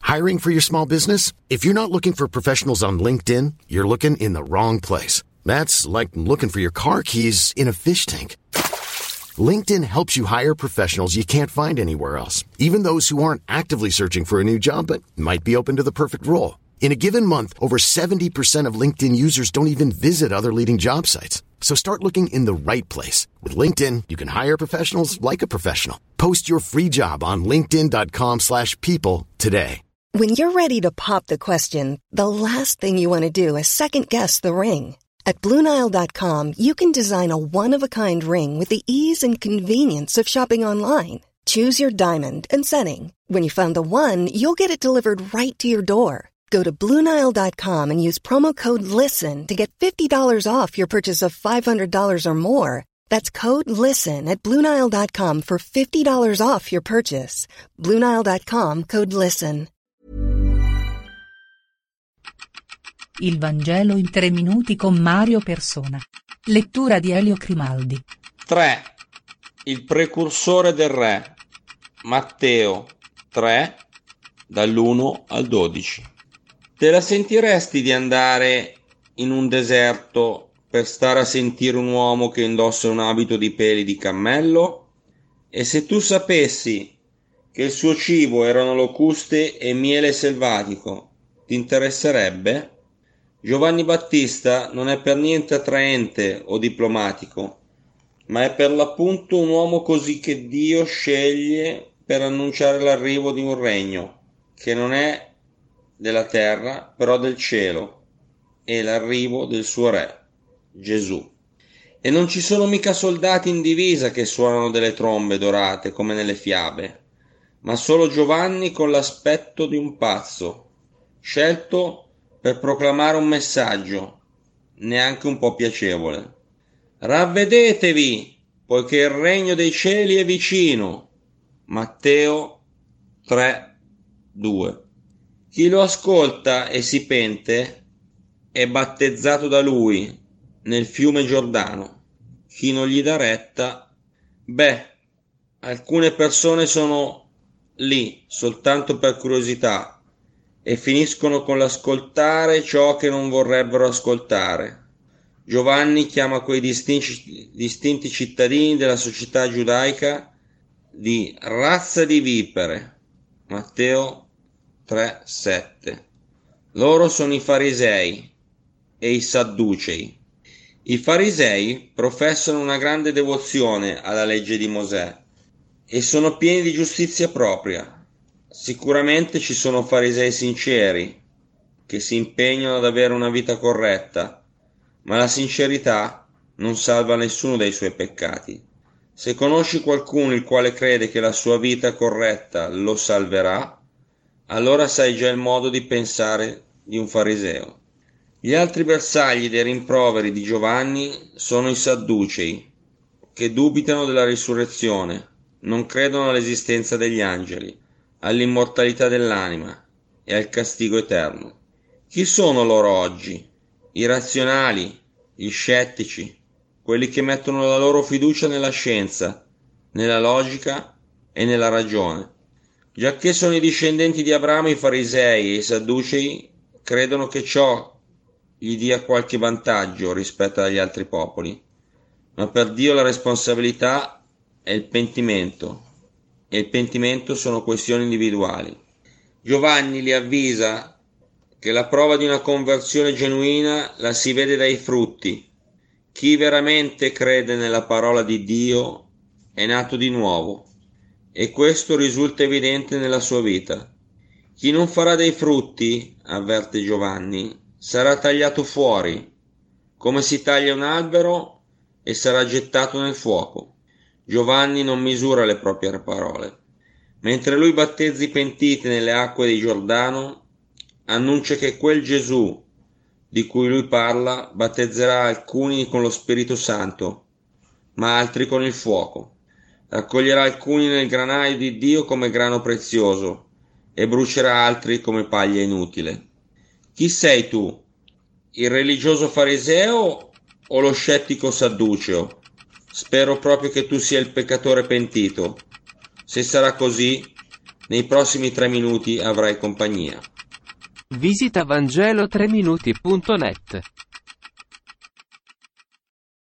Hiring for your small business? If you're not looking for professionals on LinkedIn, you're looking in the wrong place. That's like looking for your car keys in a fish tank. LinkedIn helps you hire professionals you can't find anywhere else, even those who aren't actively searching for a new job but might be open to the perfect role. In a given month, over 70% of LinkedIn users don't even visit other leading job sites. So start looking in the right place. With LinkedIn, you can hire professionals like a professional. Post your free job on linkedin.com/people today. When you're ready to pop the question, the last thing you want to do is second-guess the ring. At BlueNile.com, you can design a one-of-a-kind ring with the ease and convenience of shopping online. Choose your diamond and setting. When you find the one, you'll get it delivered right to your door. Go to BlueNile.com and use promo code LISTEN to get $50 off your purchase of $500 or more. That's code LISTEN at BlueNile.com for $50 off your purchase. BlueNile.com, code LISTEN. Il Vangelo in 3 minuti con Mario Persona. Lettura di Elio Grimaldi. 3. Il precursore del re. Matteo 3, dall'1 al 12. Te la sentiresti di andare in un deserto per stare a sentire un uomo che indossa un abito di peli di cammello? E se tu sapessi che il suo cibo erano locuste e miele selvatico, ti interesserebbe? Giovanni Battista non è per niente attraente o diplomatico, ma è per l'appunto un uomo così che Dio sceglie per annunciare l'arrivo di un regno che non è della terra, però del cielo, e l'arrivo del suo re, Gesù. E non ci sono mica soldati in divisa che suonano delle trombe dorate come nelle fiabe, ma solo Giovanni con l'aspetto di un pazzo, scelto per proclamare un messaggio, neanche un po' piacevole. Ravvedetevi, poiché il regno dei cieli è vicino. Matteo 3:2. Chi lo ascolta e si pente è battezzato da lui nel fiume Giordano. Chi non gli dà retta, alcune persone sono lì soltanto per curiosità e finiscono con l'ascoltare ciò che non vorrebbero ascoltare. Giovanni chiama quei distinti cittadini della società giudaica di razza di vipere. Matteo 3:7. Loro sono i farisei e i sadducei. I farisei professano una grande devozione alla legge di Mosè e sono pieni di giustizia propria. Sicuramente ci sono farisei sinceri che si impegnano ad avere una vita corretta, ma la sincerità non salva nessuno dai suoi peccati. Se conosci qualcuno il quale crede che la sua vita corretta lo salverà, allora sai già il modo di pensare di un fariseo. Gli altri bersagli dei rimproveri di Giovanni sono i sadducei, che dubitano della risurrezione, non credono all'esistenza degli angeli, all'immortalità dell'anima e al castigo eterno. Chi sono loro oggi? I razionali, gli scettici, quelli che mettono la loro fiducia nella scienza, nella logica e nella ragione. Giacché sono i discendenti di Abramo, i farisei e i sadducei credono che ciò gli dia qualche vantaggio rispetto agli altri popoli, ma per Dio la responsabilità è il pentimento, e il pentimento sono questioni individuali. Giovanni li avvisa che la prova di una conversione genuina la si vede dai frutti. Chi veramente crede nella parola di Dio è nato di nuovo, e questo risulta evidente nella sua vita. Chi non farà dei frutti, avverte Giovanni, sarà tagliato fuori, come si taglia un albero, e sarà gettato nel fuoco. Giovanni non misura le proprie parole. Mentre lui battezza i pentiti nelle acque di Giordano, annuncia che quel Gesù di cui lui parla battezzerà alcuni con lo Spirito Santo, ma altri con il fuoco. Raccoglierà alcuni nel granaio di Dio come grano prezioso e brucerà altri come paglia inutile. Chi sei tu? Il religioso fariseo o lo scettico sadduceo? Spero proprio che tu sia il peccatore pentito. Se sarà così, Nei prossimi 3 minuti avrai compagnia. Visita Vangelo3minuti.net.